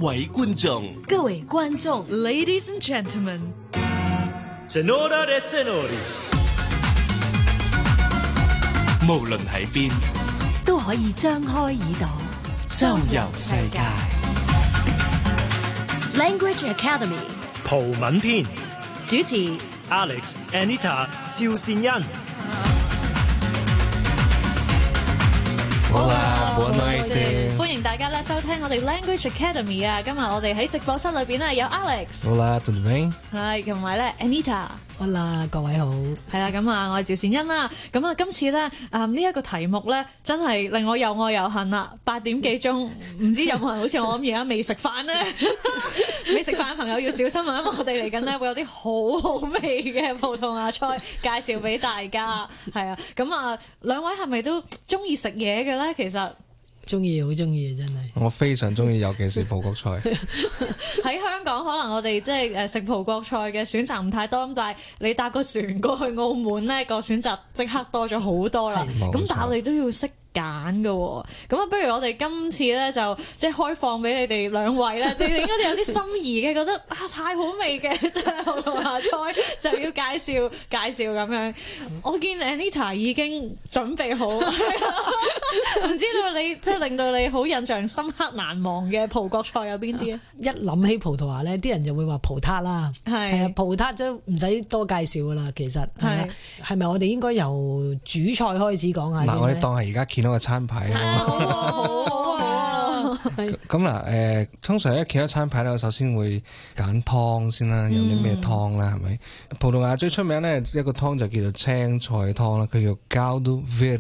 位觀眾， 各位觀眾 ，Ladies and Gentlemen， Senora de Senores， 無論喺邊都可以張開耳朵周遊世界。 Language Academy 葡文篇主持 Alex、Anita、趙善恩。 好啦，Boa noite， 歡迎大家咧收聽我哋 Language Academy 啊！今日我哋喺直播室裏邊咧有 Alex， 好啦，tudo bem？ 係同埋咧 Anita， 好啦，各位好， 係啦，咁啊，我係趙善恩啦。咁啊，今次咧呢一個題目咧，真係令我又愛又恨啦。8點幾鐘，唔知有冇人好似我咁而家未食飯咧？未食飯嘅朋友要小心啊！因為我哋嚟緊咧會有啲好好味嘅葡萄牙菜介紹俾大家。係啊，咁啊，兩位係咪都中意食嘢嘅咧？其實中意，好中意，真係。 我非常中意，尤其是葡國菜。 喺香港可能我哋即係食葡國菜嘅選擇唔太多，咁但係你搭個船過去澳門咧，個選擇即刻多咗好多啦。咁但係我哋都要識揀㗎喎，咁啊，不如我哋今次咧就即係開放俾你哋兩位咧，你哋應該有啲心儀嘅，覺得啊太好味嘅葡萄牙菜就要介紹咁樣。我見 Anita 已經準備好，唔知道你即係令到你好印象深刻難忘嘅葡國菜有邊啲啊？ 一諗起葡萄牙咧，啲人就會話葡撻啦，係啊，葡撻都唔使多介紹噶啦，其實係咪我哋應該由主菜開始講下先？ 嗱，我哋當係而家見到個餐牌啊， 好啊！ 咁嗱，通常一見到餐牌咧，我首先會揀湯先啦，有啲咩湯啦，係咪？葡萄牙最出名咧一個湯就叫做青菜湯啦，佢叫 Caldo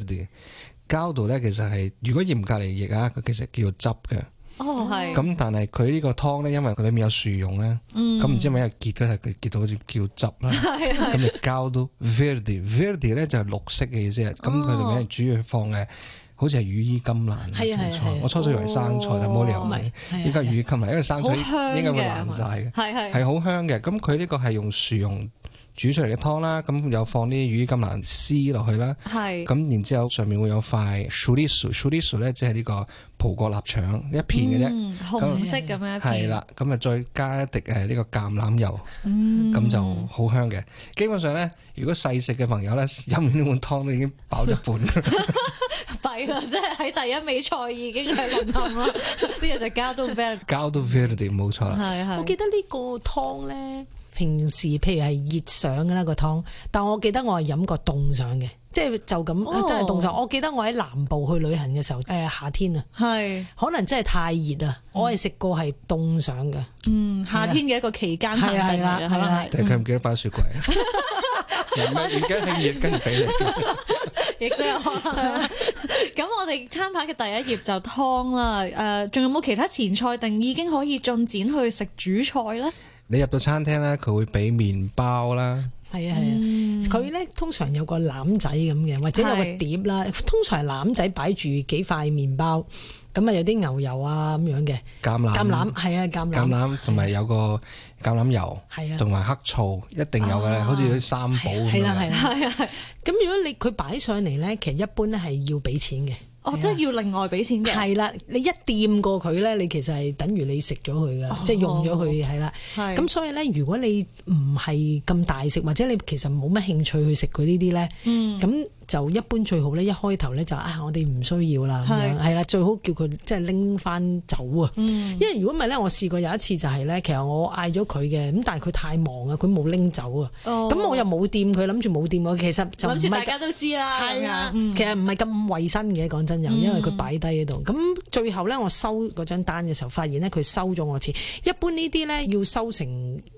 Verde。Caldo 咧其實係如果嚴格嚟譯啊，佢其實叫做汁嘅。 哦，係。 咁但係佢呢個湯咧，因為佢裏面有薯蓉咧，咁唔知係咪因為結咧，佢結到好似叫汁啦。咁就 Caldo Verde 咧就係綠色嘅意思啊。咁佢裏面主要放嘅好似係羽衣甘藍菜，我初初以為生菜，但冇理由嘅。依家羽衣甘藍，因為生菜應該會爛晒嘅，係好香嘅。咁佢呢個係用薯蓉煮出嚟嘅湯啦，咁有放啲羽衣甘藍絲落去啦，咁然之後上面會有塊 chorizo 咧，即係呢個葡國臘腸一片嘅啫， 紅色咁樣一片。 係啦，咁啊再加一滴呢個橄欖油，咁就好香嘅。基本上咧，如果細食嘅朋友咧，飲完呢碗湯都已經飽一半。 弊啦，即係喺第一味菜已經係淪陷啦。呢個就Caldo Verde 冇錯啦。 我記得呢個湯咧。平時譬如係熱上嘅啦個湯，但我記得我係飲過凍上嘅，即係就咁真係凍上。我記得我喺南部去旅行嘅時候，夏天啊，可能真係太熱啊，我係食過係凍上嘅。 夏天嘅一個期間限定嚟嘅，係啦。 但係佢唔記得擺雪櫃啊，而家係熱跟住俾你， 亦都有可能。咁我哋餐牌嘅第一頁就湯啦，仲有冇其他前菜定已經可以進展去食主菜咧？ 你入到餐廳咧，佢會俾麵包啦。 係啊，佢咧通常有個籃仔咁嘅，或者有個碟啦。通常係籃仔擺住幾塊麵包，咁啊有啲牛油啊咁樣嘅。橄欖係啊，橄欖同埋有個橄欖油，係啊，同埋黑醋一定有嘅咧，好似啲三寶咁樣。係啦。 咁如果佢擺上嚟咧，其實一般咧係要俾錢嘅。 即係要另外俾錢嘅。 係啦，你一掂過佢咧，你其實係等於你食咗佢噶，即係用咗佢係啦。咁所以咧，如果你唔係咁大食，或者你其實冇乜興趣去食佢呢啲咧，咁就一般最好咧，一開頭咧就我哋唔需要啦，咁樣係啦，最好叫佢即係拎翻走啊。因為如果唔係咧，我試過有一次就係咧，其實我嗌咗佢嘅，咁但係佢太忙啊，佢冇拎走啊。咁我又冇掂佢，諗住冇掂我，其實就諗住大家都知啦。係啊， 其實唔係咁衞生嘅，講真又，因為佢擺低喺度。咁最後咧，我收嗰張單嘅時候，發現咧佢收咗我錢。一般呢啲咧要收成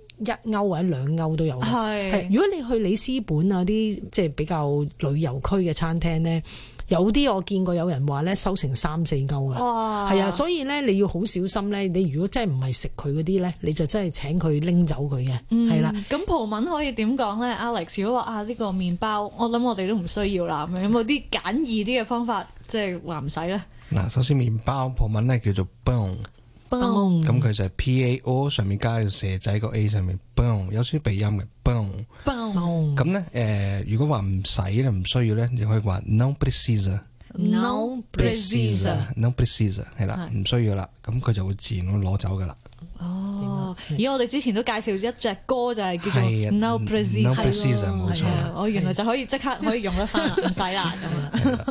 1歐或者2歐都有。係，如果你去里斯本啊啲即係比較旅遊區嘅餐廳咧，有啲我見過有人話咧收成3-4歐啊。哇！係啊，所以咧你要好小心咧。你如果真係唔係食佢嗰啲咧，你就真係請佢拎走佢嘅。係啦。 咁葡文可以點講咧 ，Alex？如果話呢個麵包，我諗我哋都唔需要啦。有冇啲簡易啲嘅方法，即係話唔使咧？ 嗱，首先麵包葡文咧叫做 pão，咁佢就係 PAO 上面加個蛇仔個 A 上面 pão，有少少鼻音嘅 pão。咁咧如果話唔使咧唔需要咧，你可以話 não precisa。 ，no precisa， precisa 係啦，唔需要啦，咁佢就會自然咁攞走噶啦。 哦，而我哋之前都介紹一隻歌就係叫做 No Precisa， 冇錯。 我原來就可以即刻可以用得翻啦，唔使啦咁樣。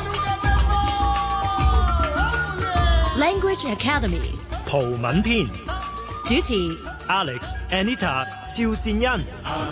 Language Academy 葡文篇主持 Alex、Anita、趙善恩。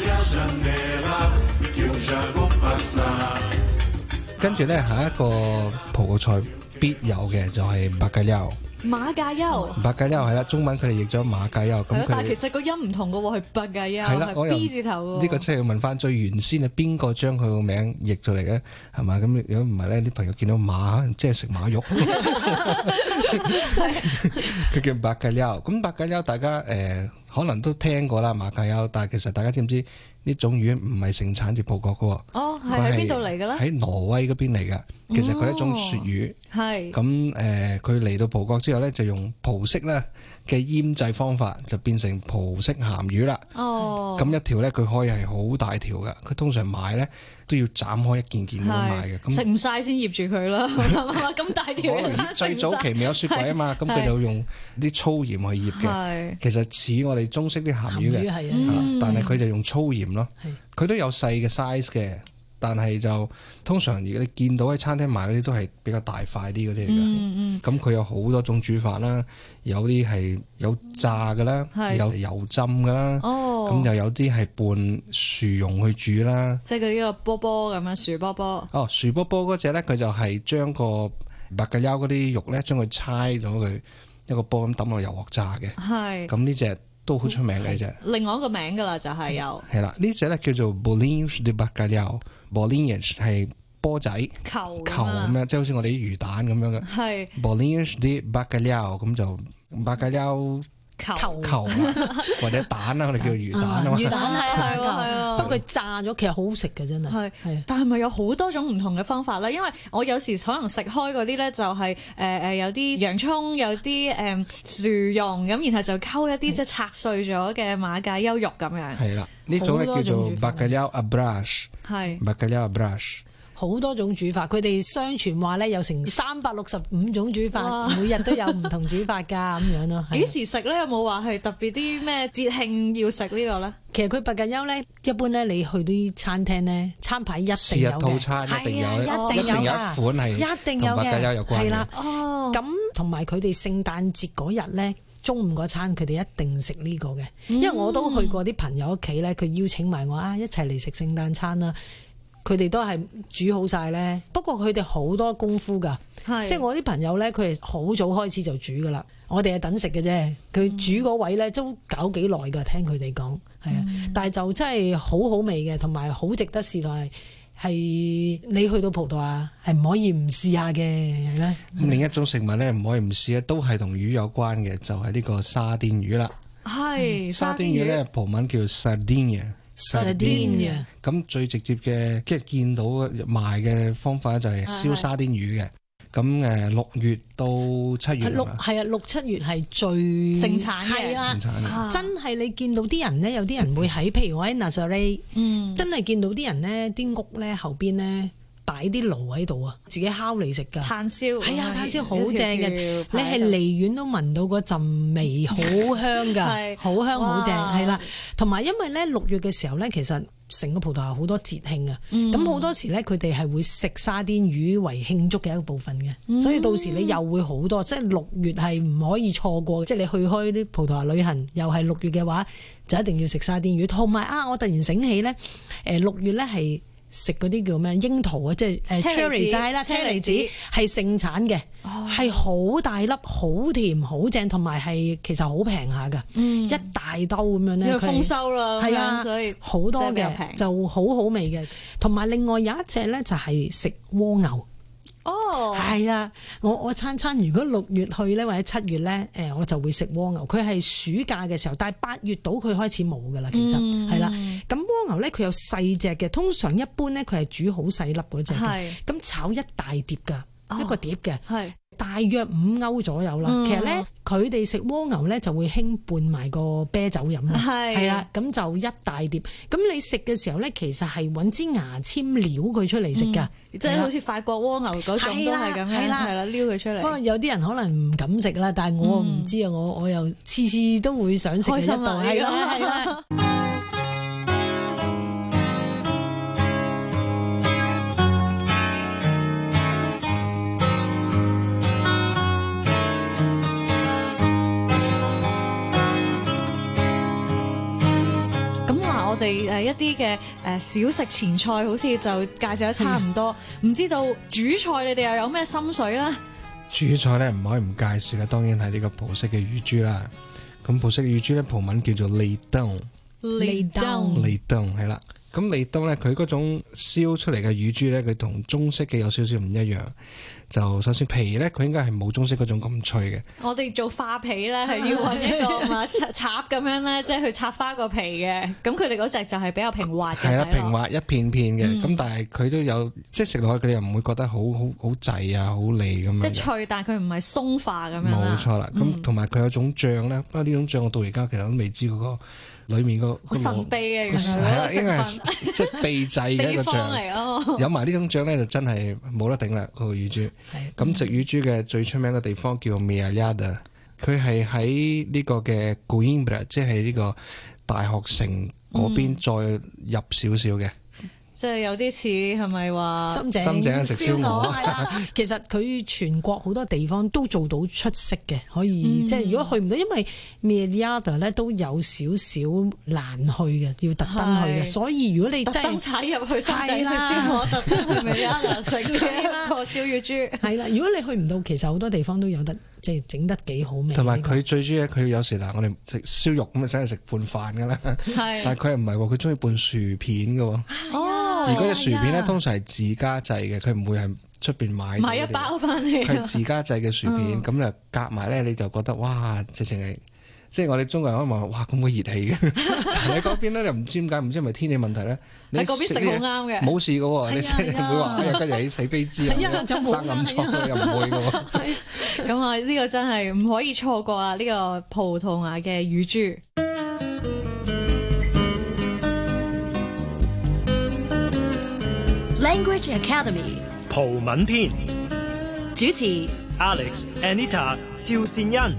跟住咧，下一個葡國菜必有嘅就係bacalhau。 馬介休係啦，中文佢哋譯咗馬介休。咁但係其實個音唔同嘅喎，係白介休， 係啦， 係 B 字頭喎。 呢個真係要問翻最原先係邊個將佢個名譯出嚟嘅，係嘛？咁如果唔係咧，啲朋友見到馬即係食馬肉，佢叫白介休。咁白介休大家可能都聽過啦，馬介休，但係其實大家知唔知呢種魚唔係盛產自葡國嘅喎？ 哦，係喺邊度嚟嘅咧？ 喺挪威嗰邊嚟嘅。其實佢係一種鱈魚， 係咁佢嚟到葡國之後咧，就用葡式咧嘅醃製方法，就變成葡式鹹魚啦。 哦， 咁一條咧，佢可以係好大條嘅，佢通常買咧都要斬開一件件咁樣買嘅。咁食唔晒先醃住佢啦，咁大條可能最早期未有雪櫃啊嘛，咁佢就用啲粗鹽去醃嘅。其實似我哋中式啲鹹魚嘅，但係佢就用粗鹽咯。佢都有細嘅 size 嘅。但係就通常如果你見到喺餐廳買嗰啲都係比較大塊啲嗰啲嚟㗎。咁佢有好多種煮法啦，有啲係有炸㗎啦，有油浸㗎啦。咁又有啲係拌薯蓉去煮啦。 即係佢呢個波波咁樣薯波波。 薯波波嗰隻咧，佢就係將個白介休嗰啲肉咧，將佢猜咗佢一個波咁抌落油鑊炸嘅。係。咁呢隻都好出名嘅呢隻。另外一個名㗎啦，就係有。 係啦，呢隻咧叫做 bolinhos de bacalhau。bolinhos 係波仔球咁樣，即係好似我哋啲魚蛋咁樣嘅。係 bolinhos de bacalhau，咁就bacalhau球或者蛋啦，我哋叫魚蛋啊嘛。 魚蛋係啊，不過佢炸咗其實好好食嘅真係。 係，但係咪有好多種唔同嘅方法咧？因為我有時可能食開嗰啲咧，就係有啲洋葱，有啲薯蓉咁，然後就溝一啲即係拆碎咗嘅馬介休肉咁樣。係啦， 呢種咧叫做 bacalhau à brás。係 bacalhau à brás。 好多種煮法，佢哋相傳話咧有成365種煮法，每日都有唔同煮法㗎咁樣咯。 幾時食咧？有冇話係特別啲咩節慶要食呢個咧？ 其實佢白介休咧，一般咧你去啲餐廳咧，餐牌一定有嘅， 套餐一定有，一定有一款係一定有嘅， 同白介休有關嘅。 係啦，咁同埋佢哋聖誕節嗰日咧，中午嗰餐佢哋一定食呢個嘅，因為我都去過啲朋友屋企咧，佢邀請埋我一齊嚟食聖誕餐啦。佢哋都係煮好晒咧，不過佢哋好多功夫㗎，即係我啲朋友咧，佢係好早開始就煮㗎啦，我哋係等食嘅啫。佢煮嗰位咧都搞幾耐㗎，聽佢哋講係啊，但係就真係好好味嘅，同埋好值得試，同埋係你去到葡萄牙係唔可以唔試下嘅，係啦。 另一種食物咧唔可以唔試咧，都係同魚有關嘅，就係呢個沙甸魚啦。係沙甸魚咧，葡文叫 Sardinha。咁最直接嘅即係見到賣嘅方法就係燒沙甸魚嘅。咁6月到7月係啊，6、7月係最盛產嘅， 盛產真係你見到啲人咧，有啲人會喺譬如我喺 Nazaré，真係見到啲人咧，啲屋咧後邊咧擺啲爐喺度啊，自己烤嚟食㗎。炭燒係啊，炭燒好正嘅，你係離遠都聞到嗰陣味，好香㗎，好香好正係啦。同埋因為咧6月嘅時候咧，其實成個葡萄牙好多節慶啊，咁好多時咧佢哋係會食沙甸魚為慶祝嘅一個部分嘅，所以到時你又會好多，即係6月係唔可以錯過，即係你去開啲葡萄牙旅行又係6月嘅話，就一定要食沙甸魚。同埋我突然醒起咧，6月咧係食嗰啲叫咩櫻桃啊，即係cherry 晒啦，車厘子係盛產嘅，係好大粒，好甜，好正，同埋係其實好平下㗎，一大兜咁樣咧， 豐收啦，係啊，所以好多嘅就好好味嘅。同埋另外有一隻咧就係食蝸牛。係啦，我餐如果6月去咧，或者7月咧，我就會食蝸牛。佢係暑假嘅時候，但係8月到佢開始冇噶啦，其實係啦。咁蝸牛咧，佢有細隻嘅，通常一般咧佢係煮好細粒嗰隻嘅，咁炒一大碟噶，一個碟嘅，大約5歐左右啦。其實咧佢哋食蝸牛咧就會興拌埋個啤酒飲啦，係啦，咁就一大碟。咁你食嘅時候咧，其實係揾支牙籤撩佢出嚟食㗎， 即係好似法國蝸牛嗰種都係咁樣，係啦，撩佢出嚟。 不過有啲人可能唔敢食啦，但係我唔知啊，我又次次都會想食嘅一道，係啦。 我哋一啲嘅小食前菜，好似就介紹得差唔多。唔知道主菜你哋又有咩心水咧？ 主菜咧唔可以唔介紹嘅，當然係呢個葡式嘅乳豬啦。咁葡式嘅乳豬咧，葡文叫做利登， 利登係啦。咁利登咧，佢嗰種燒出嚟嘅乳豬咧，佢同中式嘅有少少唔一樣。就首先皮咧，佢應該係冇中式嗰種咁脆嘅。 我哋做花皮咧，係要揾一個嘛插咁樣咧，即係去插花個皮嘅。咁佢哋嗰隻就係比較平滑嘅。係啦， 平滑一片片嘅。咁但係佢都有，即係食落去佢哋又唔會覺得好滯啊，好膩咁樣。即係脆，但係佢唔係鬆化咁樣。 冇錯啦。咁同埋佢有種醬咧，不過呢種醬我到而家其實都未知嗰個裡面個好神秘嘅， 係啦，應該係即係秘製嘅一個醬嚟咯。 有埋呢種醬咧，就真係冇得頂啦！嗰個乳豬。咁食乳豬嘅最出名嘅地方叫 Meallada， 佢係喺呢個嘅 Coimbra， 即係呢個大學城嗰邊再入少少嘅。 即係有啲似係咪話深井食燒鵝？ 係啦，其實佢全國好多地方都做到出色嘅，可以即係如果去唔到，因為 Meallada 咧都有少少難去嘅，要特登去嘅。所以如果你真係特登踩入去深井食燒鵝，特登去 Meallada食嘅個燒乳豬，係啦。如果你去唔到，其實好多地方都有得即係整得幾好味。 同埋佢最中意佢有時嗱，我哋食燒肉咁啊，真係食拌飯㗎啦。係，但係佢唔係喎，佢中意拌薯片㗎喎。而嗰隻薯片咧，通常係自家製嘅，佢唔會係出邊買一包翻嚟。 佢係自家製嘅薯片，咁就夾埋咧，你就覺得哇，直情係，即係我哋中國人可能話哇咁鬼熱氣嘅。但係嗰邊咧又唔知點解，唔知係咪天氣問題咧？ 喺嗰邊食好啱嘅， 冇事嘅喎，你唔會話哎呀跟住起飛枝啊，生暗瘡又唔會嘅喎。 咁啊，呢個真係唔可以錯過啊！呢個葡萄牙嘅乳豬。 Language Academy 葡文篇主持 Alex、Anita、趙善恩。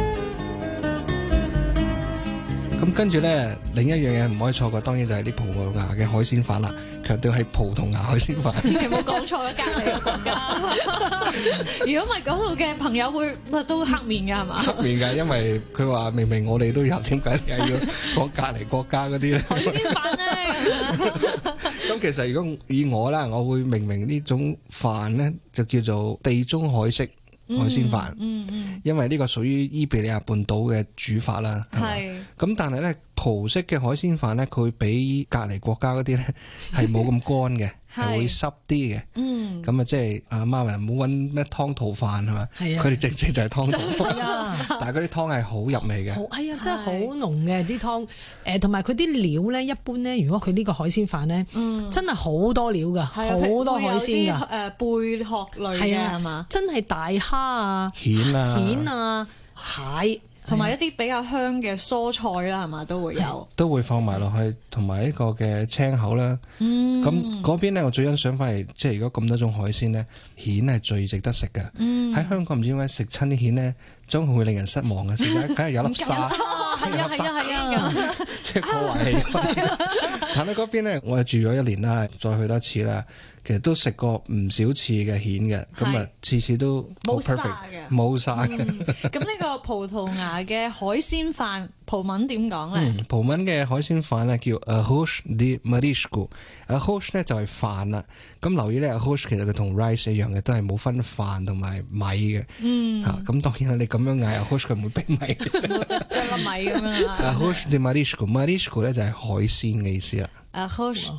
咁跟住咧，另一樣嘢唔可以錯過，當然就係啲葡萄牙嘅海鮮飯啦。強調係葡萄牙海鮮飯， 千祈唔好講錯咗隔離嘅國家。如果唔係嗰度嘅朋友會都黑面㗎係嘛？ 黑面㗎，因為佢話明明我哋都有，點解你係要講隔離國家嗰啲咧？ 海鮮飯咧。 咁其實如果以我啦，我會命名呢種飯咧就叫做地中海式海鮮飯，因為呢個屬於伊比利亞半島嘅煮法啦。係。咁但係咧，葡式嘅海鮮飯咧，佢會比隔離國家嗰啲咧係冇咁乾嘅，係會濕啲嘅。咁啊，即係阿媽咪唔好揾咩湯肚飯係嘛？係啊。佢哋直接就係湯肚飯。但係嗰啲湯係好入味嘅。係啊，真係好濃嘅啲湯。同埋佢啲料咧，一般咧，如果佢呢個海鮮飯咧，真係好多料㗎，好多海鮮㗎。 貝殼類嘅係嘛？真係大蝦啊、 蜆啊、蟹。同埋一啲比較香嘅蔬菜啦，係嘛都會有，都會放埋落去，同埋呢個嘅青口啦。咁嗰邊咧，我最欣賞翻係，即係如果咁多種海鮮咧，蜆係最值得食嘅。喺香港唔知點解食親啲蜆咧，總會令人失望嘅。食緊梗係有粒沙， 係啊， 即係破壞氣氛。但係嗰邊咧，我係住咗1年啦，再去多次啦。其實都食過唔少次嘅蜆嘅，咁啊次次都冇 perfect 嘅，冇晒嘅。 咁呢個葡萄牙嘅海鮮飯葡文點講咧？ 葡文嘅海鮮飯咧叫 arroz de marisco。arroz 咧就係飯啦。咁留意咧 arroz 其實佢同 rice 一樣嘅，都係冇分飯同埋米嘅。咁當然啦，你咁樣嗌 arroz 佢唔會俾米， 一粒米咁樣。 arroz de marisco 咧就係海鮮嘅意思啦。 arroz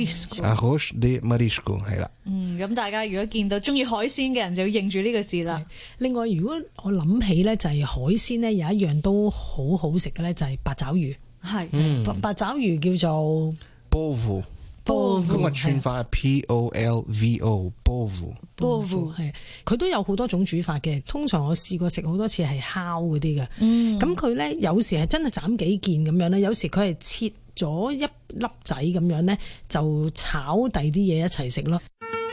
de marisco 係啦。 咁大家如果見到中意海鮮嘅人就要認住呢個字啦。 另外，如果我諗起咧，就係海鮮咧有一樣都好好食嘅咧，就係八爪魚。係，八爪魚叫做 Polvo 咁啊串法係 Polvo。 Polvo 係，佢都有好多種煮法嘅。通常我試過食好多次係烤嗰啲嘅。咁佢咧有時係真係斬幾件咁樣咧，有時佢係切咗一粒仔咁樣咧，就炒第啲嘢一齊食咯。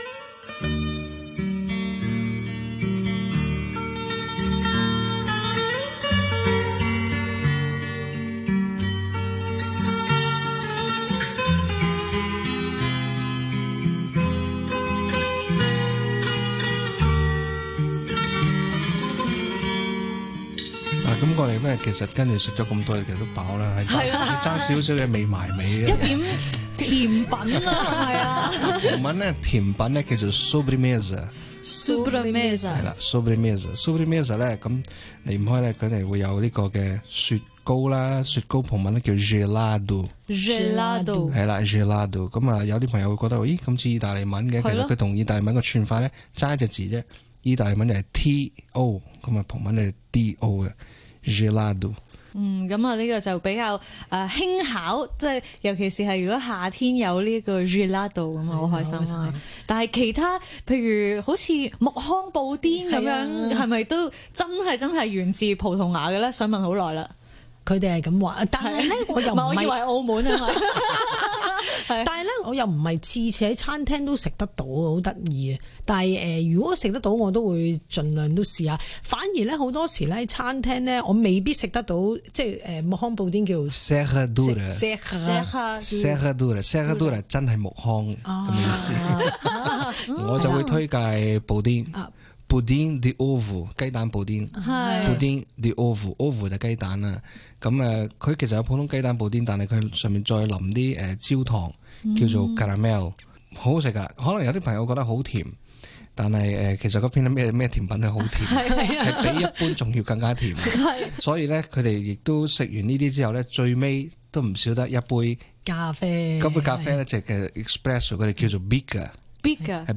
咁我哋咧其實跟住食咗咁多嘢，其實都飽啦，係爭少少嘅未埋尾一點甜品啊，係啊。 葡文咧甜品咧叫做 sobremesa， 係啦 sobremesa 咧咁離唔開咧，佢哋會有呢個嘅雪糕啦，雪糕葡文咧叫 gelato， 係啦 gelato。咁啊有啲朋友會覺得咦咁似意大利文嘅，其實佢同意大利文個串法咧爭一隻字啫，意大利文就係 to， 咁啊葡文係 do 嘅。Gelado。 咁啊呢個就比較輕巧，即係尤其是係如果夏天有呢個 Gelado 咁啊，好開心啊！但係其他譬如好似木糠布甸咁樣，係咪都真係源自葡萄牙嘅咧？想問好耐啦。 佢哋係咁話，但係咧我又唔係， 我以為澳門啊嘛。 但係咧，我又唔係次次喺餐廳都食得到，好得意啊！但係如果食得到，我都會盡量都試下。反而咧，好多時咧，餐廳咧，我未必食得到，即係木糠布甸叫 Serradura 真係木糠咁意思。我就會推介布甸。Pudim de ovo 雞蛋布甸，Pudim de ovo 就雞蛋啦。咁佢其實有普通雞蛋布甸，但係佢上面再淋啲焦糖，叫做 caramel， 好好食噶。可能有啲朋友覺得好甜，但係其實嗰邊咩甜品係好甜，係比一般仲要更加甜。所以咧，佢哋亦都食完呢啲之後咧，最尾都唔少得一杯咖啡。 嗰杯咖啡咧就係 espresso， 佢哋叫做 bica， 係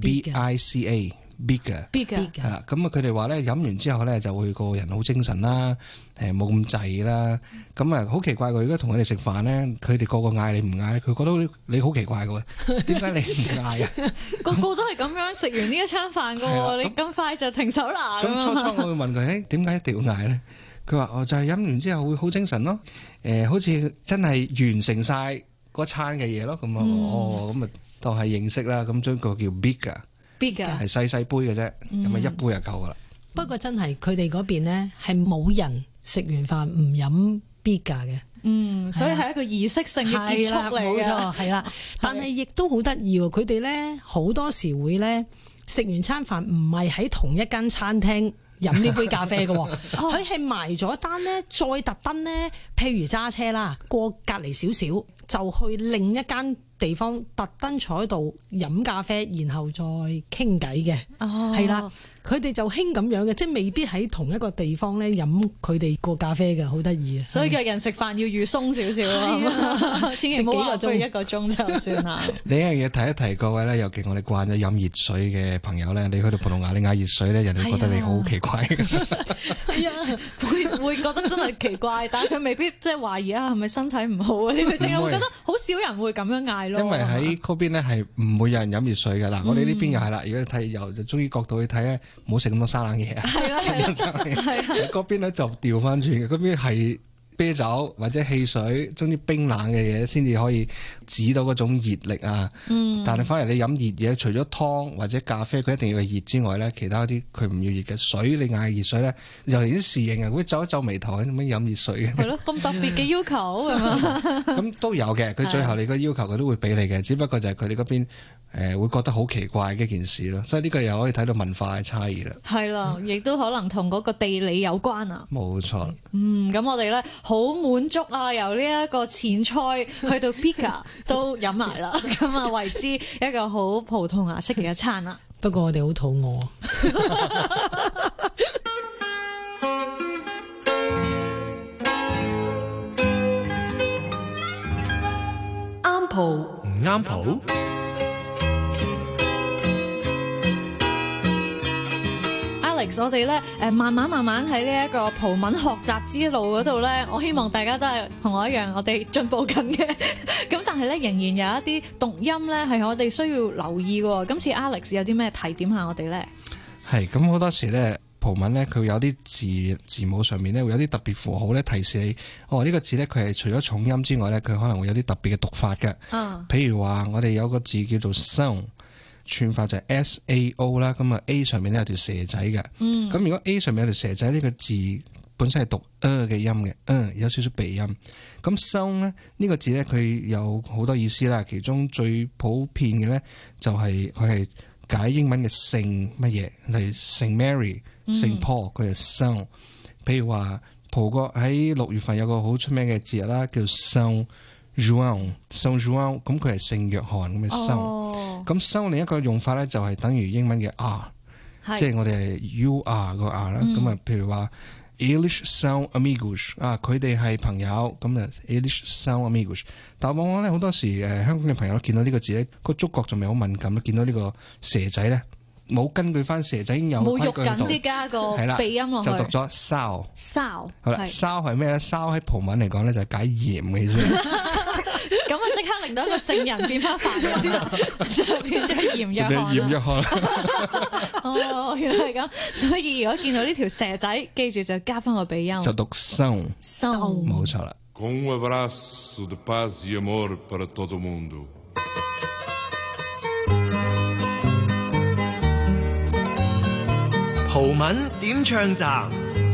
bica。Biga 係啦，咁啊佢哋話咧飲完之後咧就會個人好精神啦，冇咁滯啦，咁啊好奇怪嘅，如果同佢哋食飯咧，佢哋個個嗌你唔嗌，佢覺得你好奇怪嘅喎，點解你唔嗌啊？ 個個都係咁樣食完呢一餐飯嘅喎，你咁快就停手啦？ 咁初我會問佢，點解一定要嗌咧？佢話就係飲完之後會好精神咯，好似真係完成晒嗰餐嘅嘢咯，咁啊咁啊當係認識啦，咁將個叫 Biga。係細杯嘅啫，咁啊一杯就夠噶啦。 不過真係佢哋嗰邊呢，係冇人食完飯唔飲 Biga 嘅。 所以係一個儀式性嘅結束嚟嘅。冇錯， 係啦。但係亦都好得意喎，佢哋咧好多時會咧食完餐飯唔係喺同一間餐廳飲呢杯咖啡嘅，佢係埋咗單咧，再特登咧，譬如揸車啦，過隔離少少就去另一間地方特登坐喺度飲咖啡，然後再傾偈嘅，係啦，佢哋就興咁樣嘅，即係未必喺同一個地方咧飲佢哋個咖啡嘅，好得意啊！ 所以約人食飯要預鬆少少咯，千祈唔好話不如一個鐘就算啦。 另一樣嘢提一提各位咧，尤其我哋慣咗飲熱水嘅朋友咧，你去到葡萄牙你嗌熱水咧，人哋覺得你好奇怪。 係啊，會覺得真係奇怪，但係佢未必即係懷疑啊，係咪身體唔好啊？佢淨係會覺得好少人會咁樣嗌咯。 因為喺嗰邊咧係唔會有人飲熱水嘅嗱，我哋呢邊又係啦。如果你睇由中醫角度去睇咧，唔好食咁多生冷嘢啊。係啦，嗰邊咧就調翻轉嘅，嗰邊係啤酒或者汽水，總之冰冷嘅嘢先至可以止到嗰種熱力啊。但係反而你飲熱嘢，除咗湯或者咖啡，佢一定要係熱之外咧，其他啲佢唔要熱嘅水。你嗌熱水咧，又連啲侍應啊會皺一皺眉頭，點解飲熱水嘅？係咯， 咁特別嘅要求係嘛？ 咁都有嘅，佢最後你個要求佢都會俾你嘅，只不過就係佢哋嗰邊會覺得好奇怪嘅一件事咯。所以呢個又可以睇到文化嘅差異啦。係啦，亦都可能同嗰個地理有關啊。 冇錯。 咁我哋咧好滿足啊！由呢一個前菜去到 Biga 都飲埋啦，咁啊為之一個好葡萄牙式嘅一餐啦。 不過我哋好肚餓。 啱蒲唔啱蒲。 Alex，我哋咧慢慢喺呢一個葡文學習之路嗰度咧，我希望大家都係同我一樣，我哋進步緊嘅。咁但係咧仍然有一啲讀音咧係我哋需要留意嘅。今次 Alex 有啲咩提點下我哋咧？係咁好多時咧。葡文咧，佢有啲字母上面咧會有啲特別符號咧提示你，呢個字咧佢係除咗重音之外咧，佢可能會有啲特別嘅讀法嘅。譬如話我哋有個字叫做 sound， 串法就係 SAO 啦，咁啊 A 上面咧有條蛇仔嘅。咁如果 A 上面有條蛇仔呢個字本身係讀嘅音嘅，有少少鼻音。咁 sound 咧呢個字咧佢有好多意思啦，其中最普遍嘅咧就係佢係解英文嘅聖乜嘢，例如聖 Mary、聖 Paul， 佢係 Saint。譬如話葡國喺6月份有個好出名嘅節日啦，叫 Saint Joan，Saint Joan， 咁佢係聖約翰咁嘅 Saint。咁 Saint 另一個用法咧就係等於英文嘅 R， 即係我哋係 You are 個 R 啦。咁啊，譬如話 Eles são amigos， 佢哋係朋友，咁啊 Eles são amigos。但往往咧好多時香港嘅朋友見到呢個字咧，個觸覺仲未好敏感，見到呢個蛇仔咧，冇根據翻蛇仔已經有冇肉緊啲加個鼻音落去， 就讀咗 sao。好啦，sao 係咩咧？sao 喺葡文嚟講咧就係解鹽嘅意思。 咁啊，即刻令到一個聖人變翻凡人，就變咗鹽約翰。哦，原來係咁，所以如果見到呢條蛇仔，記住就加翻個鼻音， 就讀 sound， 冇錯啦。 Com abraço de paz e amor para todo mundo。 葡文點唱站。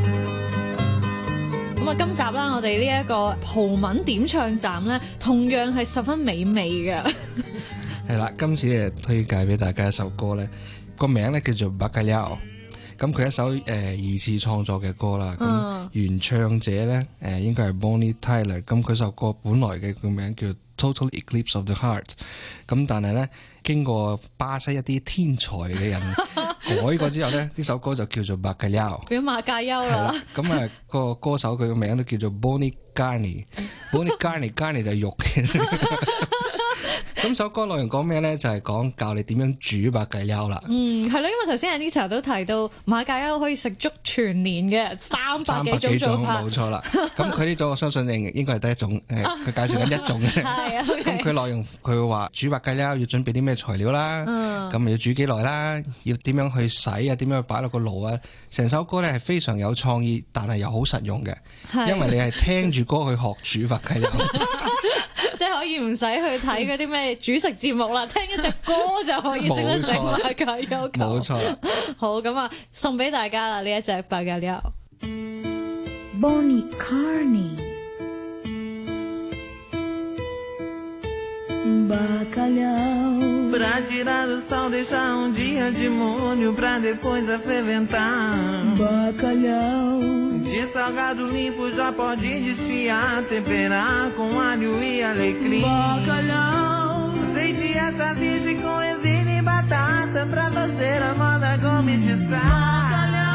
咁啊，今集啦，我哋呢一個葡文點唱站咧，同樣係十分美味嘅。 係啦，今次推介俾大家一首歌咧，個名咧叫做 Bacalhau。咁佢一首二次創作嘅歌啦，咁原唱者咧應該係 Bonnie Tyler。咁佢首歌本來嘅個名叫 Total Eclipse of the Heart。咁但係咧經過巴西一啲天才嘅人改過之後咧，呢首歌就叫做 Bacalhau， 變馬介休啦。咁個歌手佢個名都叫做 Bonnie Carne。Bonnie Carne 就係肉嘅。咁首歌內容講咩咧？就係講教你點樣煮白芥優啦。係咯，因為頭先 Anita 都提到馬芥優可以食足全年嘅300幾種做法。冇錯啦。咁佢呢種我相信應該係第一種，佢介紹緊一種嘅。係咁佢內容佢會話煮白芥優要準備啲咩材料啦，咁要煮幾耐啦，要點樣去洗啊，點樣去擺落個爐啊。成首歌咧係非常有創意，但係又好實用嘅，因為你係聽住歌去學煮白芥優。即係可以唔使去睇嗰啲咩煮食節目啦，聽一隻歌就可以識得整馬芥優。冇錯。好，咁啊，送俾大家啦呢一隻馬芥優。 Bonnie Carne Bacalhau Pra tirar o sal deixar dia de molho pra depois aferventar Bacalhau De salgado limpo já pode desfiar Temperar com alho e alecrim Bacalhau Azeite essa virgem com ervilha e batata Pra fazer a moda gourmetizar Bacalhau